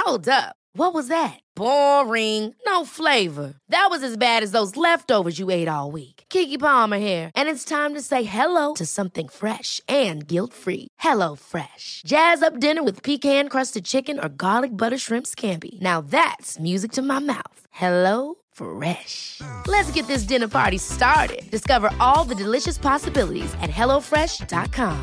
Hold up. What was that? Boring. No flavor. That was as bad as those leftovers you ate all week. Keke Palmer here, and it's time to say hello to something fresh and guilt-free. Hello Fresh. Jazz up dinner with pecan-crusted chicken or garlic butter shrimp scampi. Now that's music to my mouth. Hello Fresh. Let's get this dinner party started. Discover all the delicious possibilities at hellofresh.com.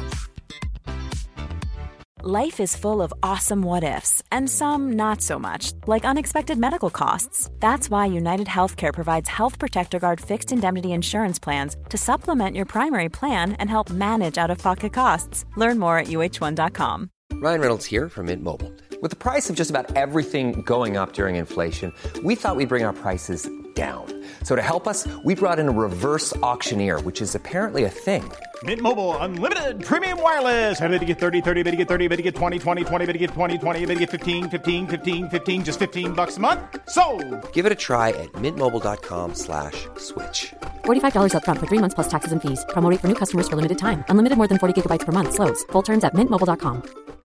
Life is full of awesome what-ifs, and some not so much, like unexpected medical costs. That's why United Healthcare provides Health Protector Guard fixed indemnity insurance plans to supplement your primary plan and help manage out-of-pocket costs. Learn more at uh1.com. Ryan Reynolds here from Mint Mobile. With the price of just about everything going up during inflation, we thought we'd bring our prices down. So to help us, we brought in a reverse auctioneer, which is apparently a thing. Mint Mobile Unlimited Premium Wireless. How to get 30, 30, bit to get 30, bit to get 20, 20, 20, bit to get 20, 20, bit to get 15, 15, 15, 15, just $15 a month? Sold! Give it a try at mintmobile.com/switch. $45 up front for 3 months plus taxes and fees. Promo rate for new customers for limited time. Unlimited more than 40 gigabytes per month. Slows full terms at mintmobile.com.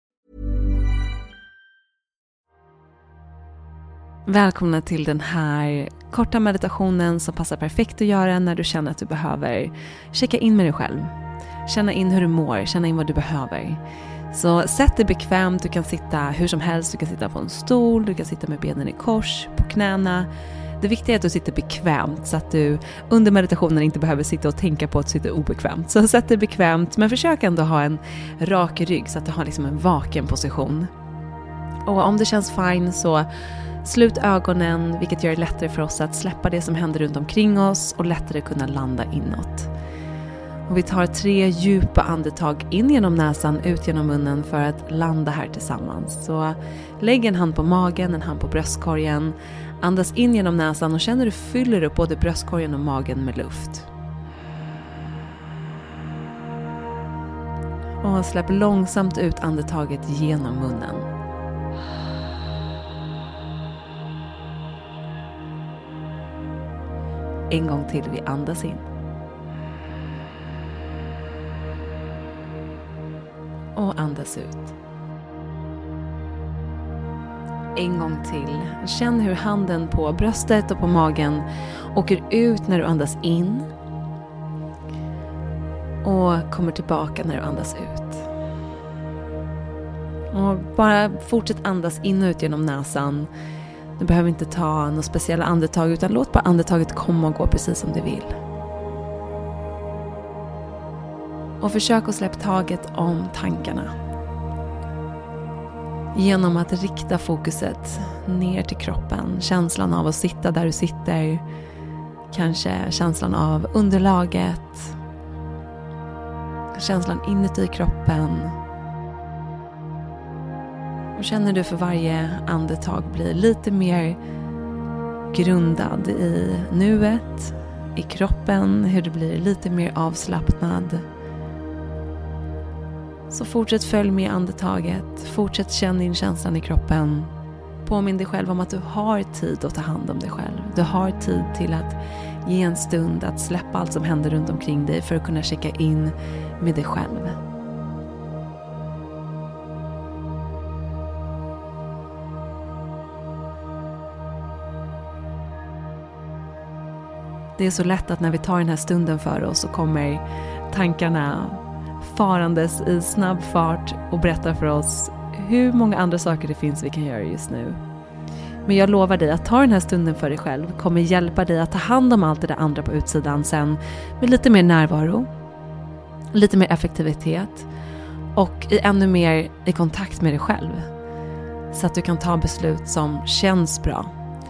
Välkomna till den här korta meditationen som passar perfekt att göra när du känner att du behöver checka in med dig själv. Känna in hur du mår, känna in vad du behöver. Så sätt dig bekvämt, du kan sitta hur som helst, du kan sitta på en stol, du kan sitta med benen i kors, på knäna. Det viktiga är att du sitter bekvämt så att du under meditationen inte behöver sitta och tänka på att sitta obekvämt. Så sätt dig bekvämt, men försök ändå ha en rak rygg så att du har liksom en vaken position. Och om det känns fine så slut ögonen, vilket gör det lättare för oss att släppa det som händer runt omkring oss och lättare kunna landa inåt. Och vi tar 3 djupa andetag in genom näsan, ut genom munnen för att landa här tillsammans. Så lägg en hand på magen, en hand på bröstkorgen. Andas in genom näsan och känner hur du fyller upp både bröstkorgen och magen med luft. Och släpp långsamt ut andetaget genom munnen. En gång till, vi andas in. Och andas ut. En gång till. Känn hur handen på bröstet och på magen åker ut när du andas in. Och kommer tillbaka när du andas ut. Och bara fortsätt andas in och ut genom näsan. Du behöver inte ta några speciella andetag utan låt bara andetaget komma och gå precis som du vill. Och försök att släppa taget om tankarna. Genom att rikta fokuset ner till kroppen. Känslan av att sitta där du sitter. Kanske känslan av underlaget. Känslan inuti kroppen. Och känner du för varje andetag blir lite mer grundad i nuet, i kroppen, hur du blir lite mer avslappnad. Så fortsätt följ med andetaget, fortsätt känna in känslan i kroppen. Påminn dig själv om att du har tid att ta hand om dig själv. Du har tid till att ge en stund, att släppa allt som händer runt omkring dig för att kunna checka in med dig själv. Det är så lätt att när vi tar den här stunden för oss så kommer tankarna farandes i snabb fart och berättar för oss hur många andra saker det finns vi kan göra just nu. Men jag lovar dig att ta den här stunden för dig själv kommer hjälpa dig att ta hand om allt det där andra på utsidan sen med lite mer närvaro, lite mer effektivitet och i ännu mer i kontakt med dig själv. Så att du kan ta beslut som känns bra.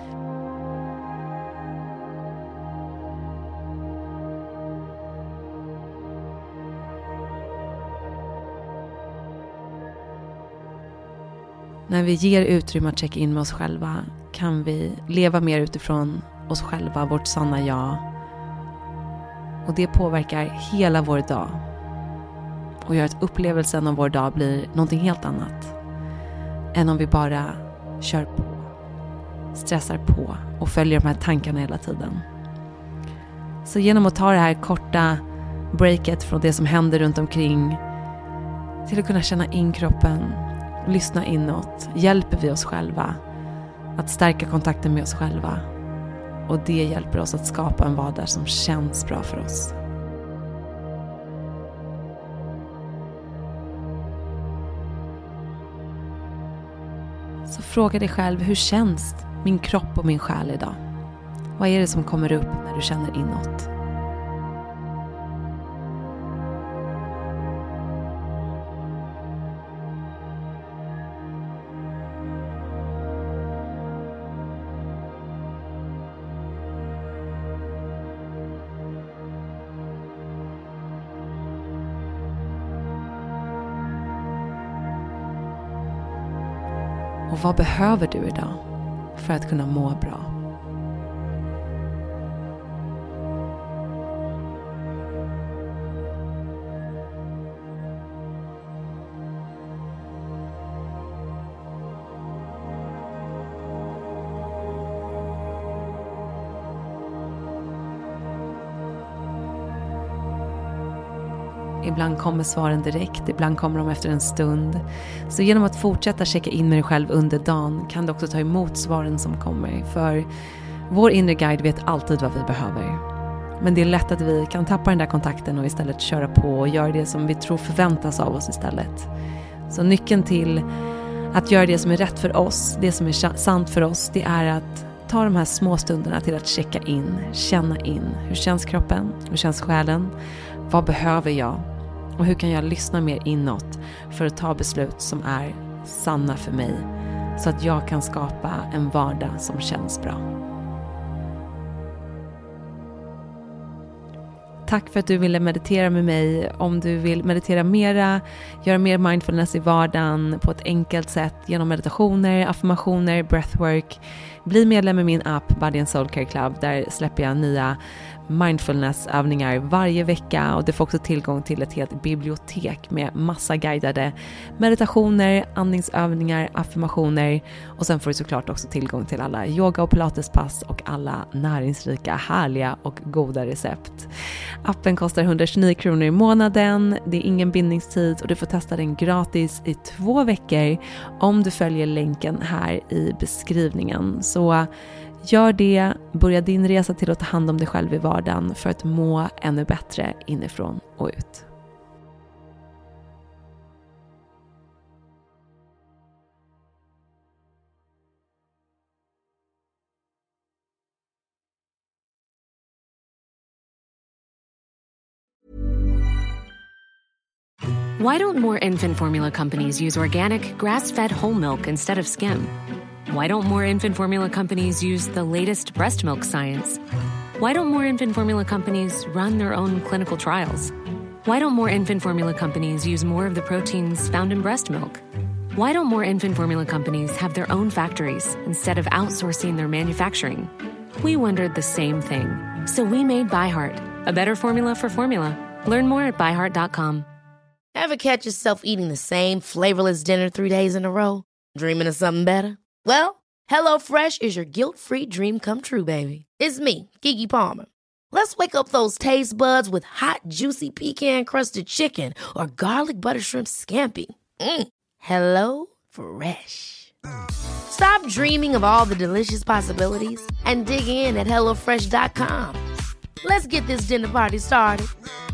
När vi ger utrymme att checka in med oss själva kan vi leva mer utifrån oss själva, vårt sanna jag. Och det påverkar hela vår dag. Och gör att upplevelsen av vår dag blir någonting helt annat. Än om vi bara kör på, stressar på och följer de här tankarna hela tiden. Så genom att ta det här korta breaket från det som händer runt omkring till att kunna känna in kroppen lyssna inåt, hjälper vi oss själva att stärka kontakten med oss själva. Och det hjälper oss att skapa en vardag som känns bra för oss. Så fråga dig själv, hur känns min kropp och min själ idag? Vad är det som kommer upp när du känner inåt? Och vad behöver du idag för att kunna må bra? Ibland kommer svaren direkt, ibland kommer de efter en stund. Så genom att fortsätta checka in med dig själv under dagen kan du också ta emot svaren som kommer. För vår inre guide vet alltid vad vi behöver. Men det är lätt att vi kan tappa den där kontakten och istället köra på och göra det som vi tror förväntas av oss istället. Så nyckeln till att göra det som är rätt för oss, det som är sant för oss, det är att ta de här små stunderna till att checka in, känna in. Hur känns kroppen? Hur känns själen? Vad behöver jag? Och hur kan jag lyssna mer inåt för att ta beslut som är sanna för mig, så att jag kan skapa en vardag som känns bra. Tack för att du ville meditera med mig. Om du vill meditera mera, göra mer mindfulness i vardagen på ett enkelt sätt genom meditationer, affirmationer, breathwork, bli medlem i min app Body and Soul Care Club. Där släpper jag nya mindfulnessövningar varje vecka, och du får också tillgång till ett helt bibliotek med massa guidade meditationer, andningsövningar, affirmationer, och sen får du såklart också tillgång till alla yoga- och pilatespass och alla näringsrika, härliga och goda recept. Appen kostar 129 kronor i månaden, det är ingen bindningstid och du får testa den gratis i 2 veckor om du följer länken här i beskrivningen. Så gör det, börja din resa till att ta hand om dig själv i vardagen för att må ännu bättre inifrån och ut. Why don't more infant formula companies use organic, grass-fed whole milk instead of skim? Why don't more infant formula companies use the latest breast milk science? Why don't more infant formula companies run their own clinical trials? Why don't more infant formula companies use more of the proteins found in breast milk? Why don't more infant formula companies have their own factories instead of outsourcing their manufacturing? We wondered the same thing. So we made ByHeart, a better formula for formula. Learn more at byheart.com. Ever catch yourself eating the same flavorless dinner 3 days in a row? Dreaming of something better? Well, HelloFresh is your guilt-free dream come true, baby. It's me, Keke Palmer. Let's wake up those taste buds with hot, juicy pecan-crusted chicken or garlic butter shrimp scampi. Hello Fresh. Stop dreaming of all the delicious possibilities and dig in at HelloFresh.com. Let's get this dinner party started.